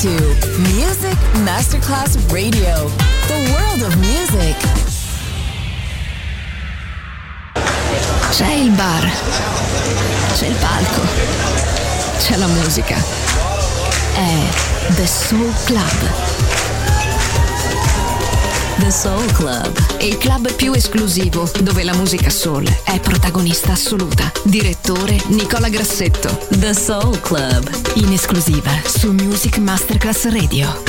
to Music Masterclass Radio, the world of music. C'è il bar, c'è il palco, c'è la musica. È The Soul Club. The Soul Club, Il club più esclusivo dove la musica soul è protagonista assoluta. Direttore Nicola Grassetto. The Soul Club, In esclusiva su Music Masterclass Radio.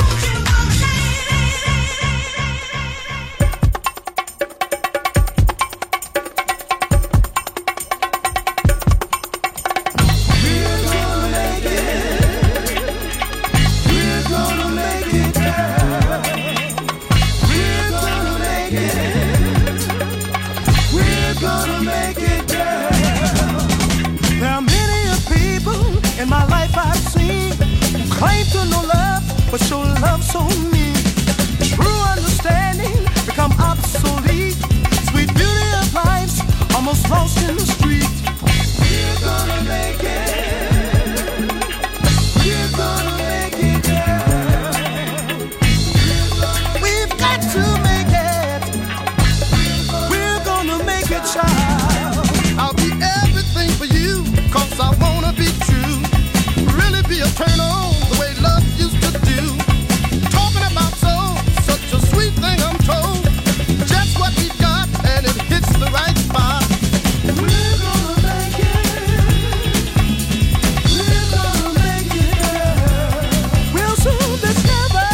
But show love so mean. True understanding become obsolete. Sweet beauty of life's almost lost in the street. We're gonna make it. We're gonna make it, girl. We've got to make it. We're gonna make it, child. I'll be everything for you, 'cause I wanna be true. Really be a turn on the way love used to do. Talking about soul, such a sweet thing I'm told. Just what we've got and it hits the right spot. We're gonna make it. We're gonna make it. We'll soon discover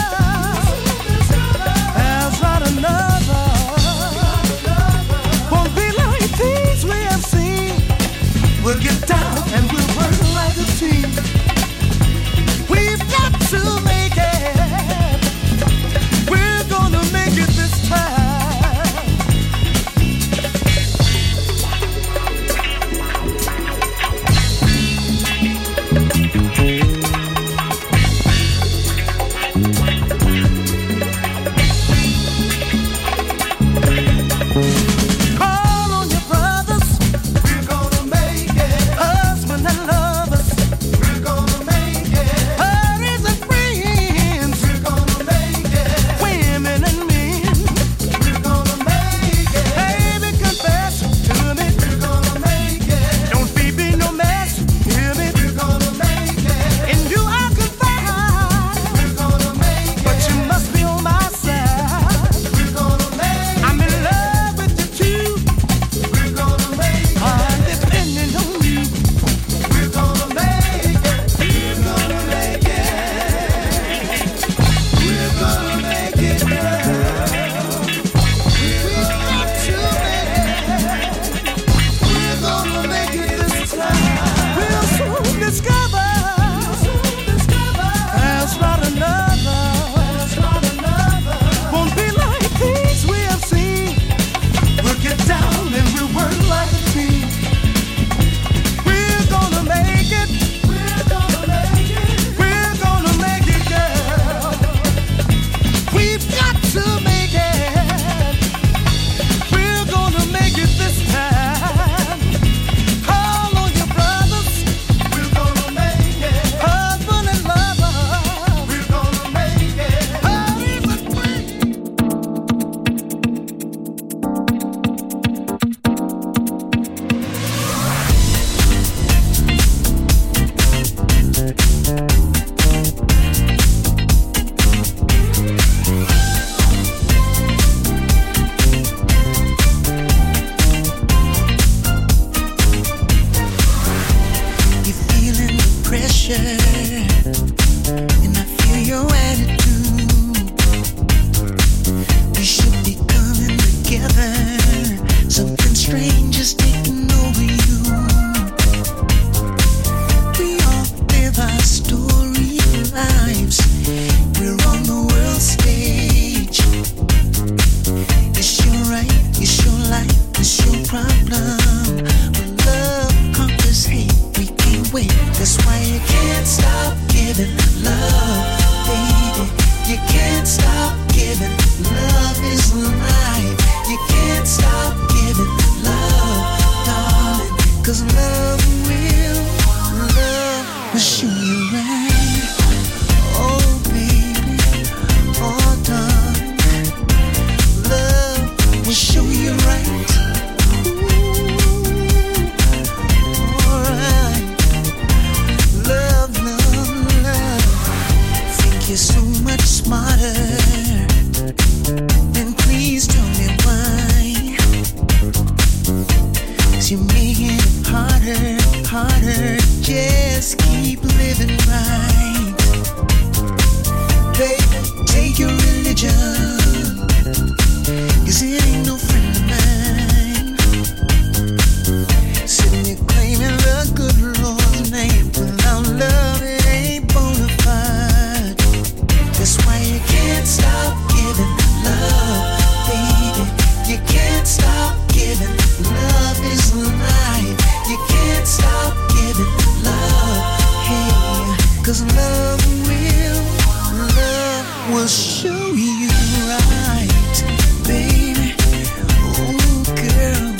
there's not another. Won't be like things we have seen. We'll get down and we'll work like a team. We've got to make it. We're gonna make it this time. Call on your brothers. We're gonna make it. Husband and lovers. We're gonna make it. Buddies and friends. We're gonna make it. Women and men. We're gonna make it. Baby, confess to me. We're gonna make it. Don't be no mess. Hear me. We're gonna make it. In you I confide. We're gonna make it. But you must be on my side. We're gonna make it. I'm in love with you too. We're gonna make it. I'm depending on you. We're gonna make it. We're gonna make it. We're gonna make it, girl. We've got to make it. We're gonna make it this time. We'll soon discover there's not another. Won't be like things we have seen. We'll get down and we'll work like a team. We're gonna make it. We're gonna make it. We're gonna make it, girl. We've got to make it. We're gonna make it this time. Call on your brothers. We're gonna make it. Husband and lover. We're gonna make it. Hurry but wait. You're feeling the pressure, and I feel your attitude. We should be coming together. Something strange is taking over you. We all live our story lives. We're on the world stage. It's your right, it's your life, it's your problem. But love conquers hate. We can't wait. That's why you can't stop giving love, baby. You can't stop giving. Love is life. You can't stop giving love, darling. 'Cause love will show you right. Oh, baby. will show you right, baby. Oh, girl,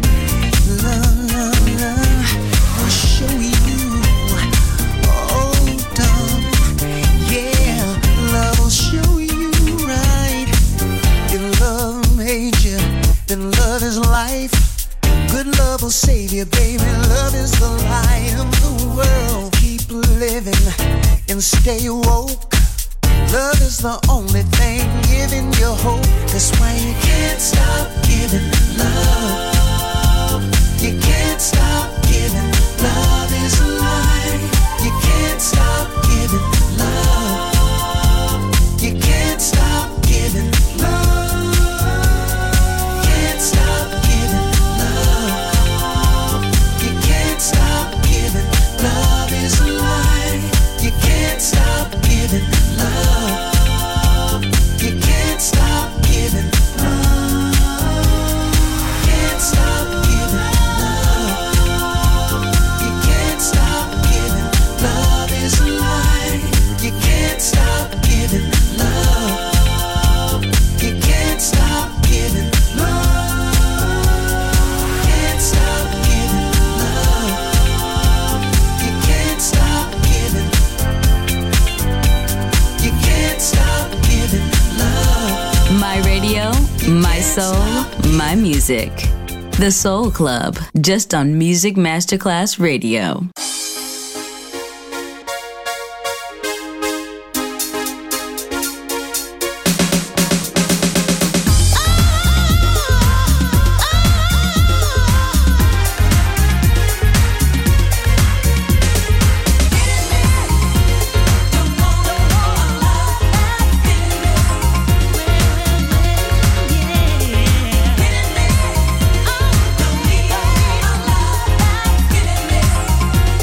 love will show you. Oh, darling, yeah, love will show you right. If love made you, then love is life. Good love will save you, baby. Love is the light of the world. Keep living and stay woke. Love is the only thing giving you hope. That's why you can't stop giving love. You can't stop giving. Love is alive. You can't stop giving love. You can't stop giving love. Can't stop giving love. You can't stop giving. Love is alive. You can't stop giving love. You can't stop giving love. Can't stop giving love. You can't stop giving. Love is alive. You can't stop giving love. You can't stop giving love. Can't stop giving love. You can't stop giving. You can't stop giving love. My radio, my soul, my music. The Soul Club, just on Music Masterclass Radio. Yeah.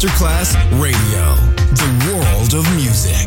Masterclass Radio, the world of music.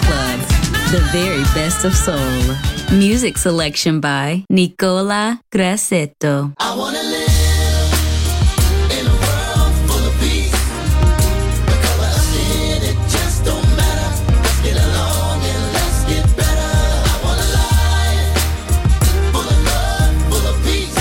Club, the very best of soul. Music selection by Nicola Grassetto. I wanna live in a world full of peace. The color of skin, it just don't matter. Let's get along and let's get better. I want a life full of love, full of peace.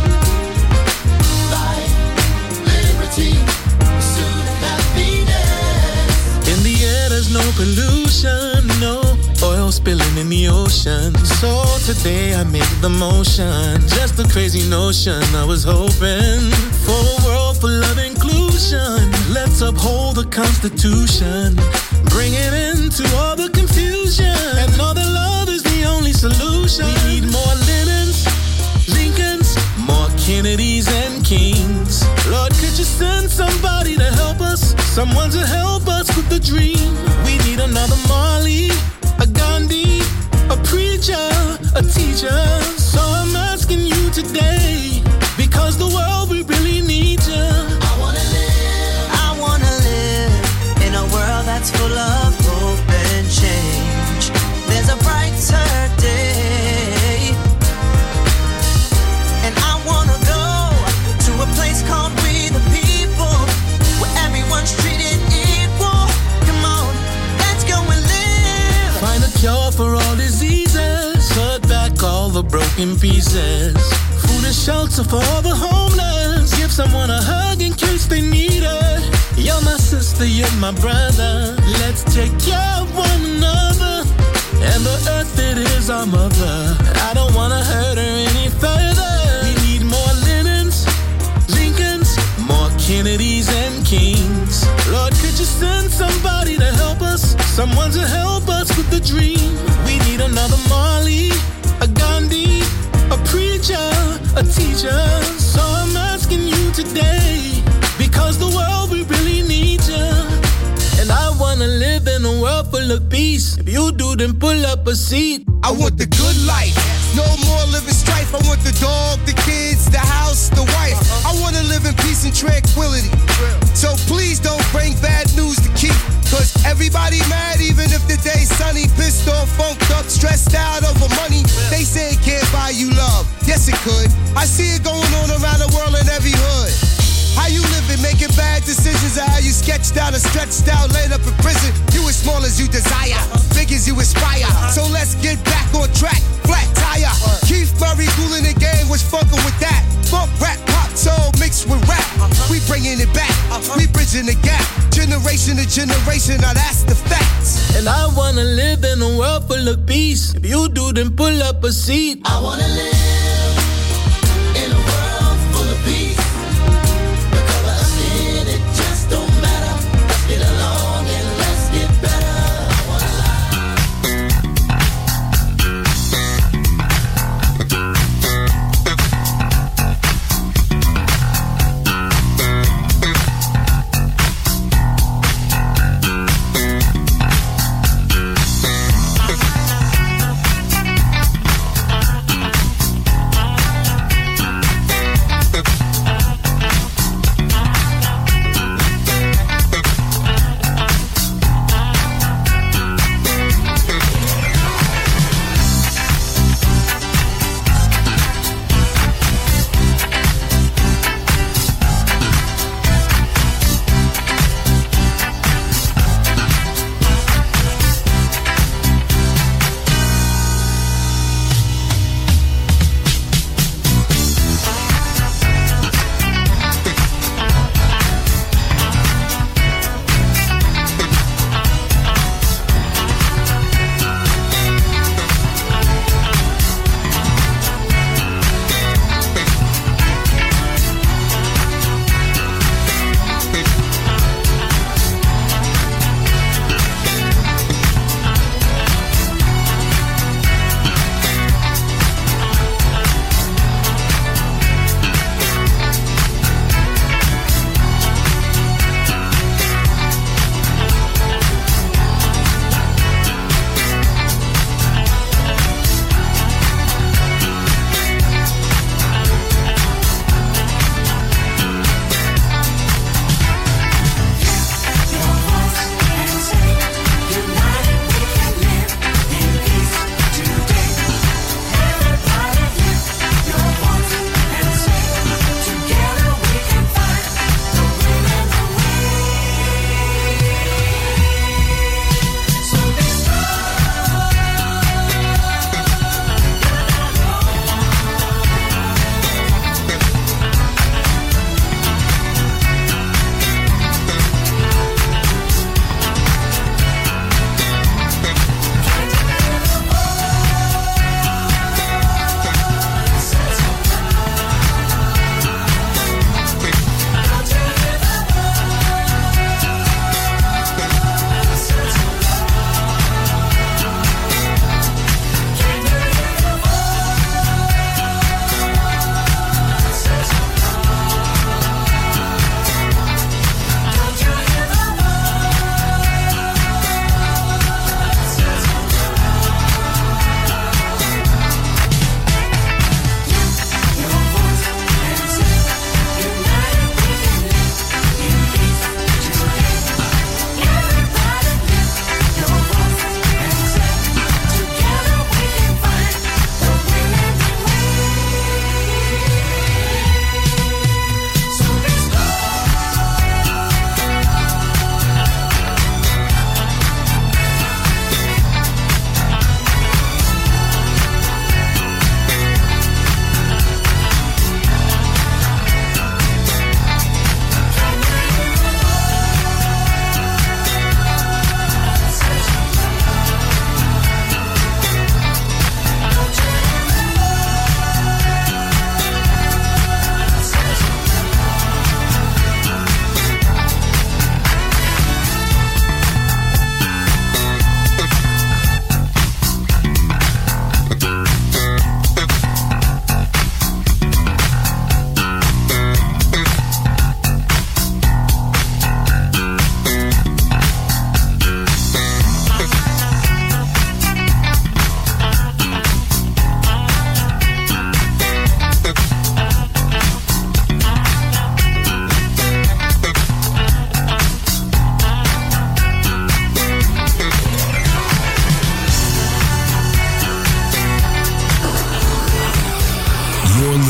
Life, liberty, pursuit of happiness. In the air there's no pollution, no oil spilling in the ocean. So today I made the motion. Just a crazy notion. I was hoping for a world full of inclusion. Let's uphold the Constitution. Bring it into all the confusion. And know that love is the only solution. We need more Lennons, Lincolns, more Kennedys and Kings. Lord, could you send somebody to help us? Someone to help us with the dream. We need another Marley, a Gandhi, a preacher, a teacher. So I'm asking you today, because the world, we really need you. I wanna live in a world that's full of hope and change. There's a brighter day, and I wanna go to a place called We the People, where everyone's treated equal. Come on, let's go and live. Find a cure for all diseases. Put back all the broken pieces. Food and shelter for all the homeless. Give someone a hug in case they need it. You're my sister, you're my brother. Let's take care of one another. And the earth, it is our mother. I don't wanna hurt her any further. We need more Lennons, Lincolns, more Kennedys and Kings. Lord, could you send somebody to help us? Someone to help us with the dream. We need another Marley, a Gandhi, a preacher, a teacher. So I'm asking you today, because the world, we really need you. And I wanna live in a world full of peace. If you do, then pull up a seat. I want the good life, no more living strife. I want the dog, the kids, the house, the wife. I want to live in peace and tranquility. So please don't bring bad news to keep, cause everybody mad even if the day's sunny. Pissed off, funked up, stressed out over money. They say it can't buy you love. Yes it could. I see it going on around the world in every hood. How you living, making bad decisions, or how you sketched out and stretched out, laid up in prison. You as small as you desire, big as you aspire. So let's get back on track, flat tire. Keith Murray cooling the game, was fucking with that. Funk, rap, pop, soul mixed with rap. We bringing it back, we bridging the gap. Generation to generation, now that's the facts. And I wanna live in a world full of peace. If you do, then pull up a seat. I wanna live in a world full of peace. It just don't matter. Let's get along and let's get better. I wanna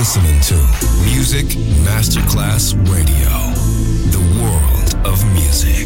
listening to Music Masterclass Radio, the world of music.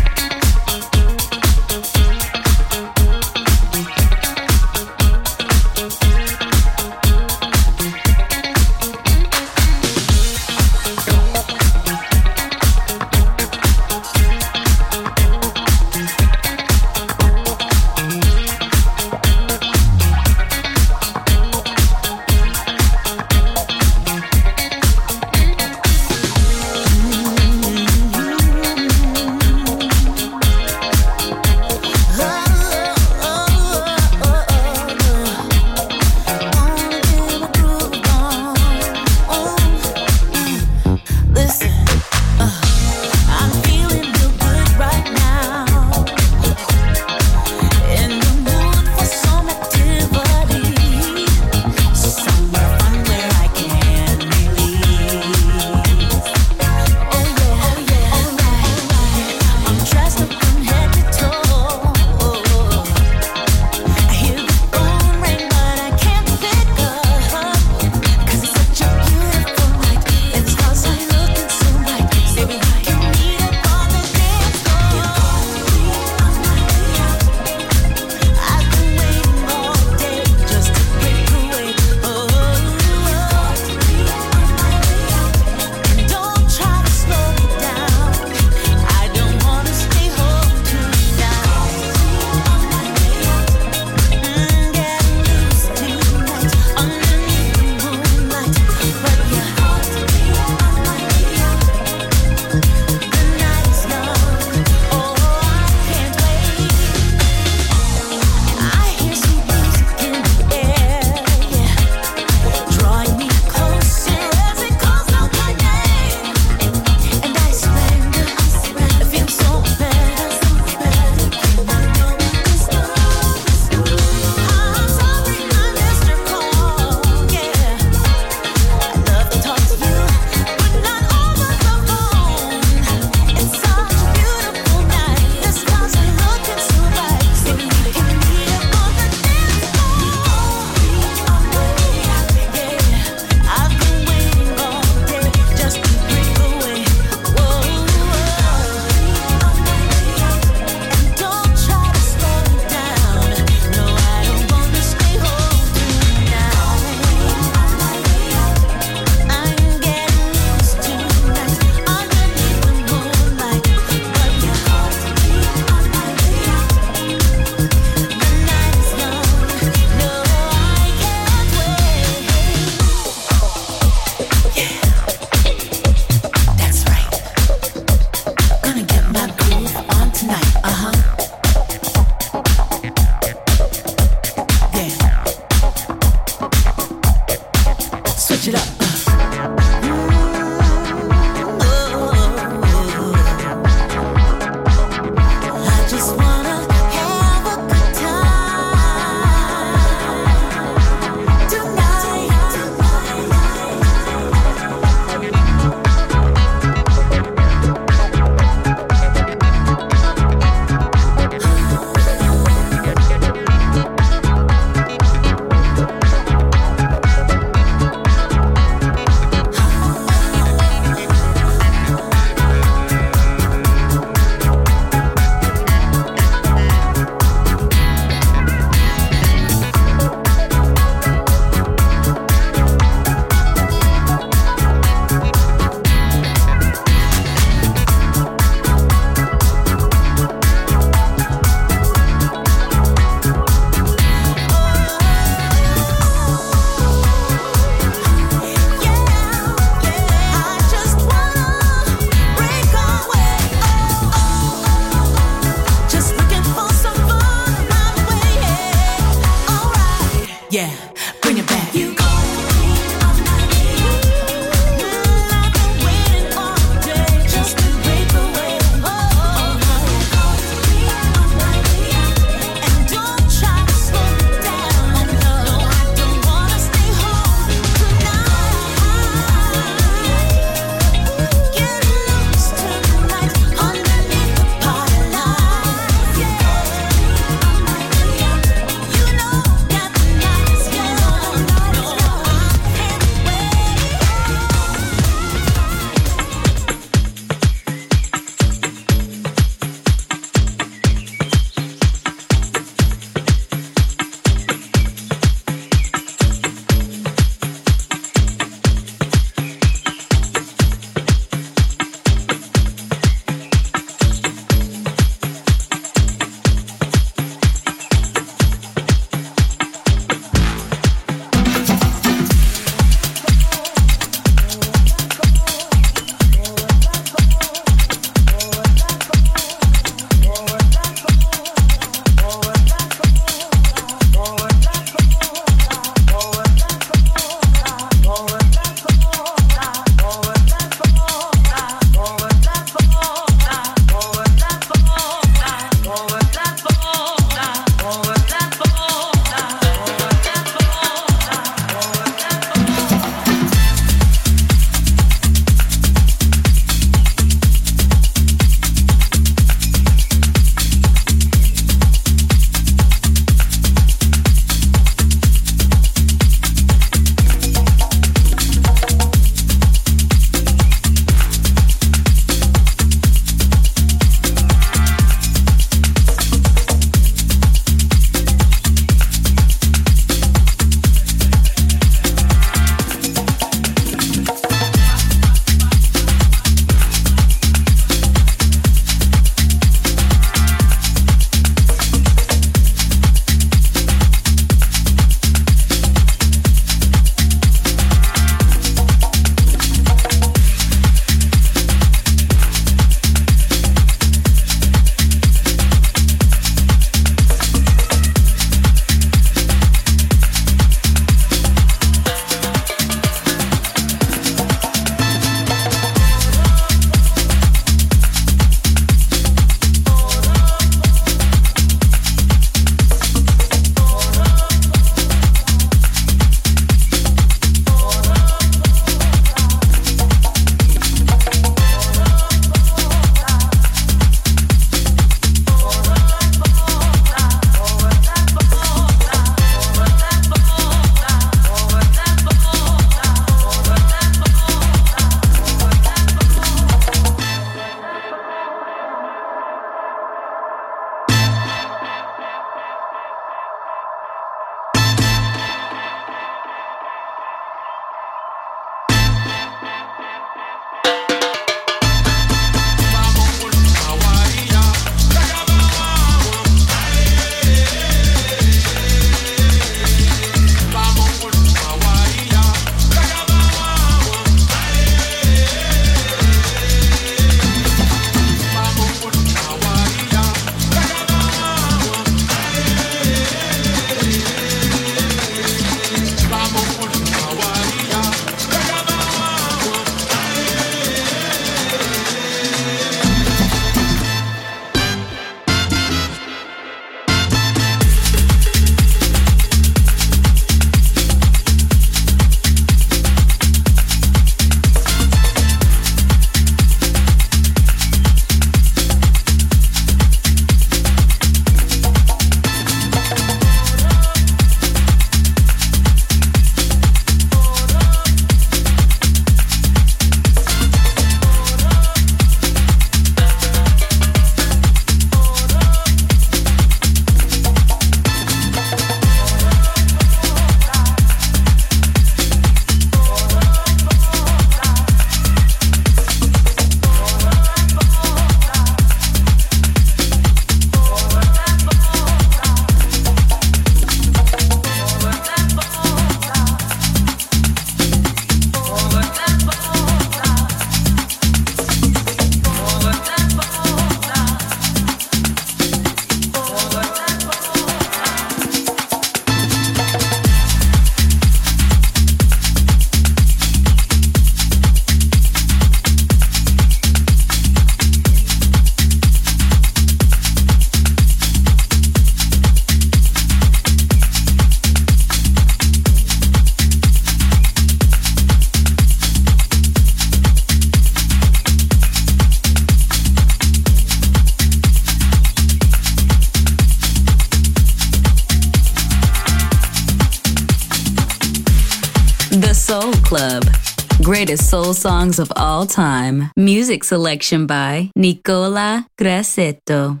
Club. Greatest soul songs of all time. Music selection by Nicola Grassetto.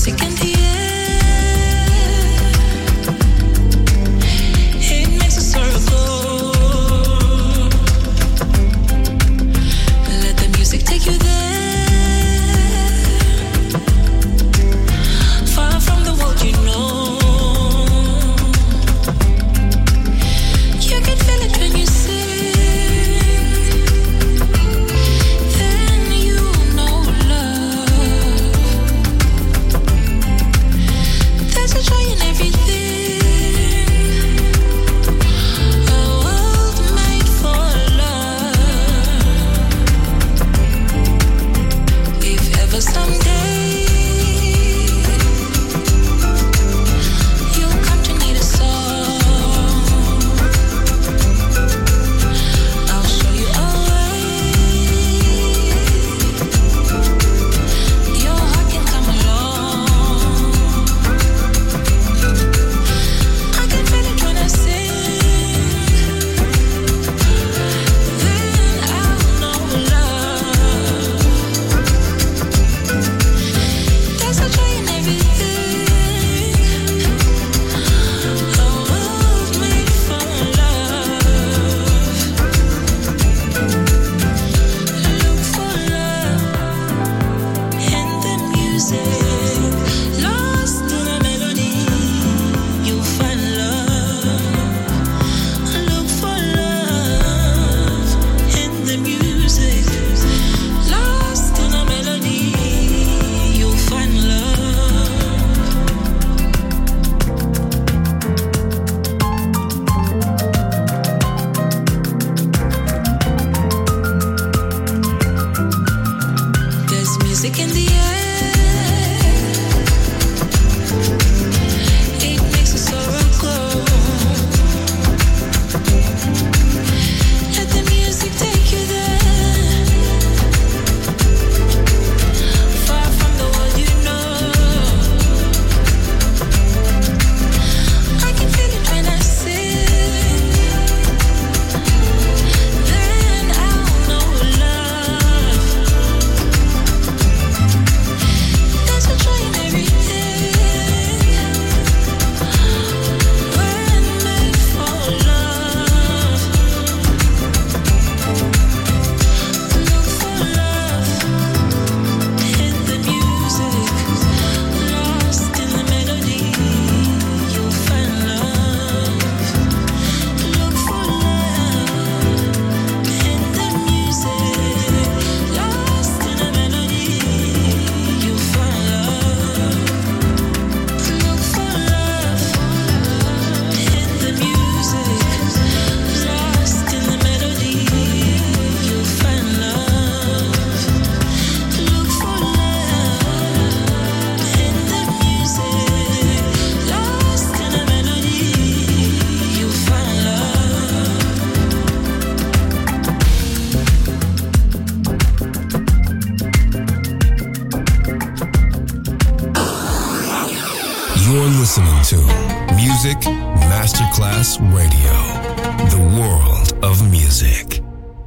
You're listening to Music Masterclass Radio, the world of music.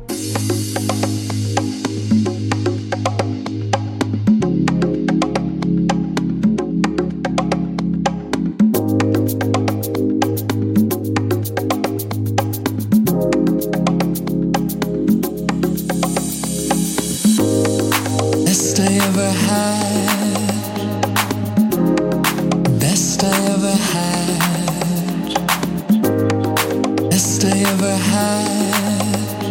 Best I ever had, best I ever had, best I ever had,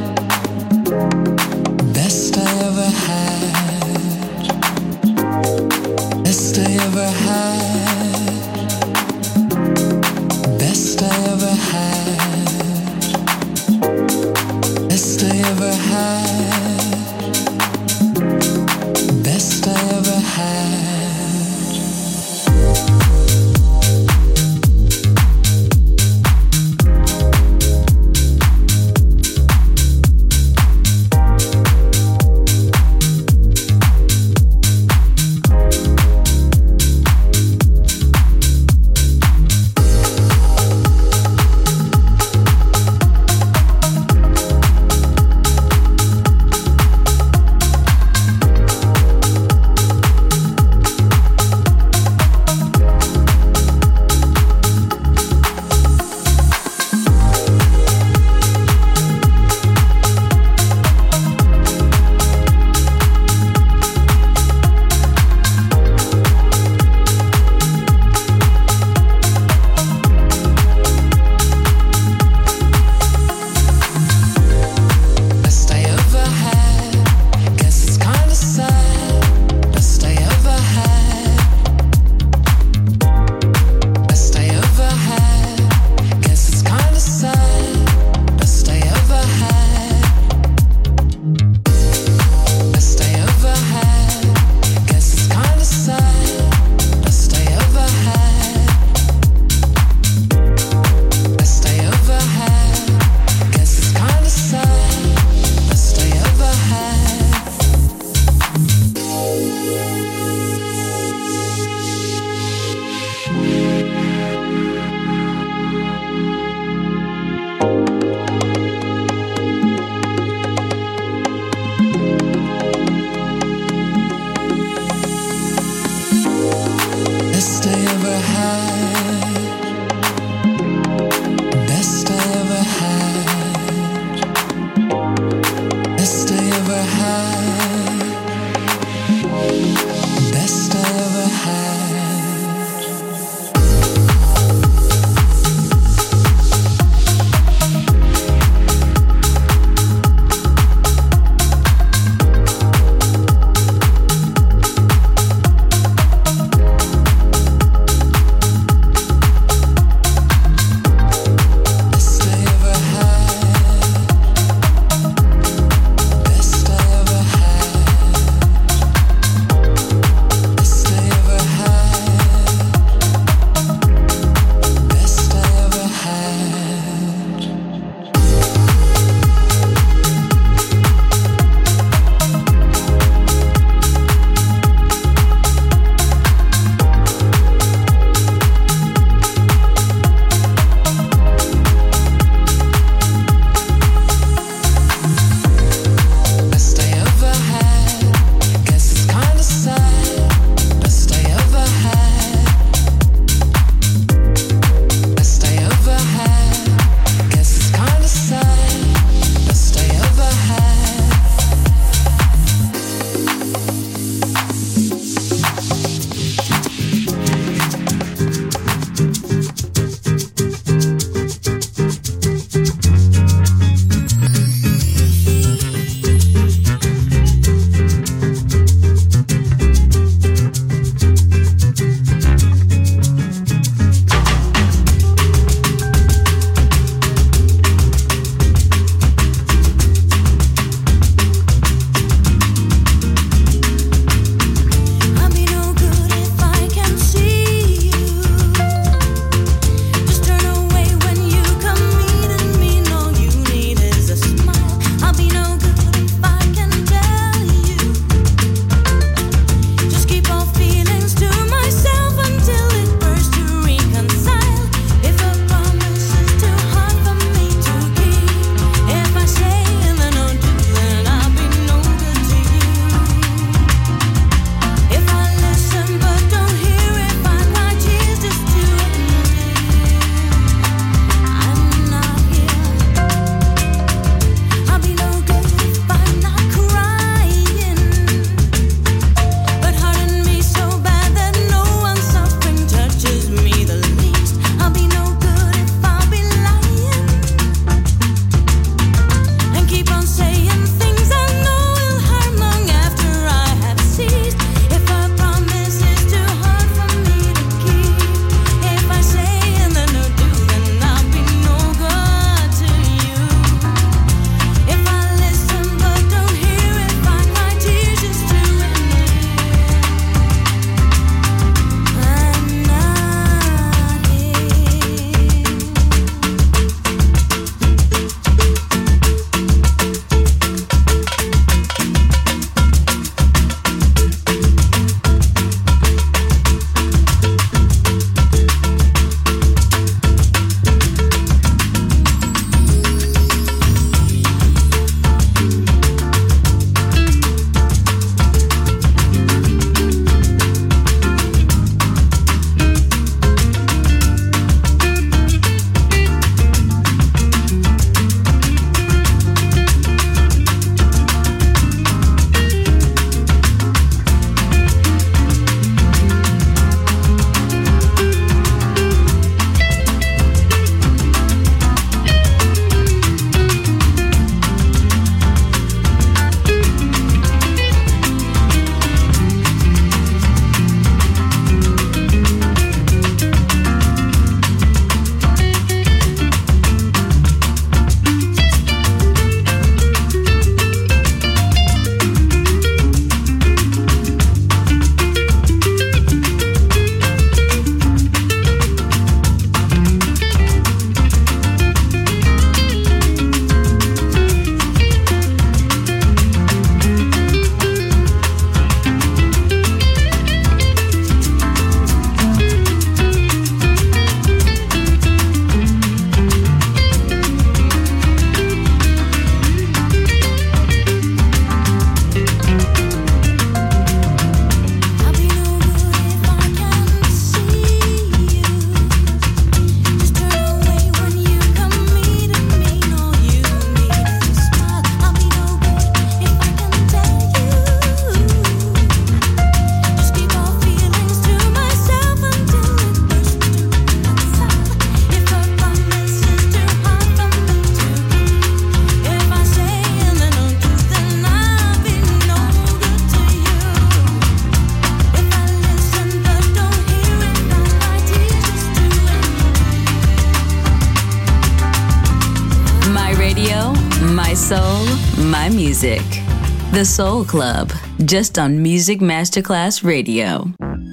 soul, my music. The Soul Club, just on Music Masterclass Radio.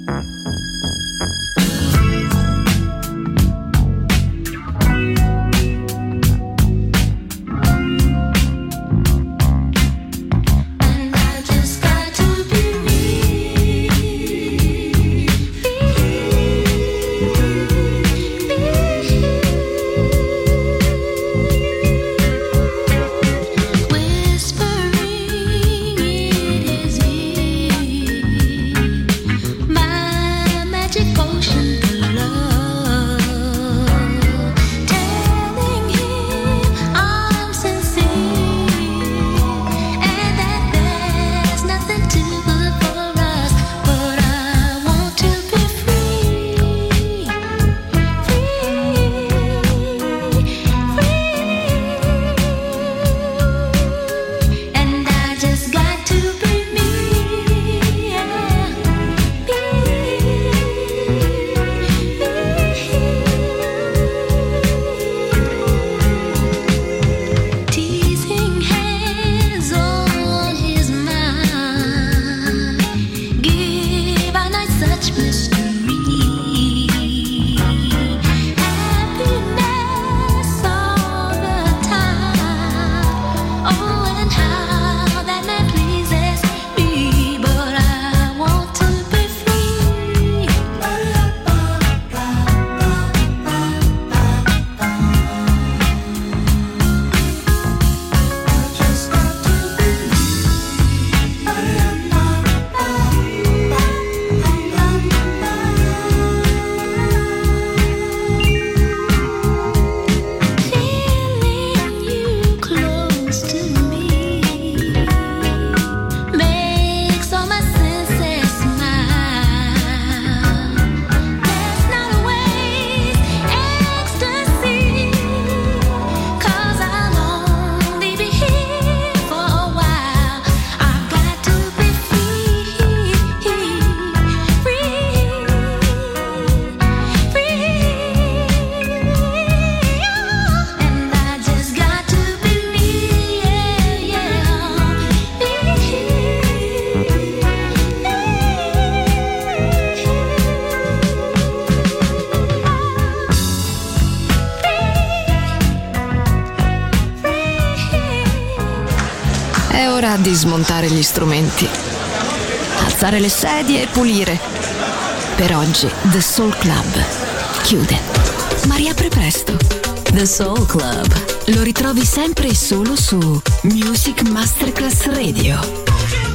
È ora di smontare gli strumenti, alzare le sedie e pulire. Per oggi The Soul Club chiude, ma riapre presto. The Soul Club. Lo ritrovi sempre e solo su Music Masterclass Radio.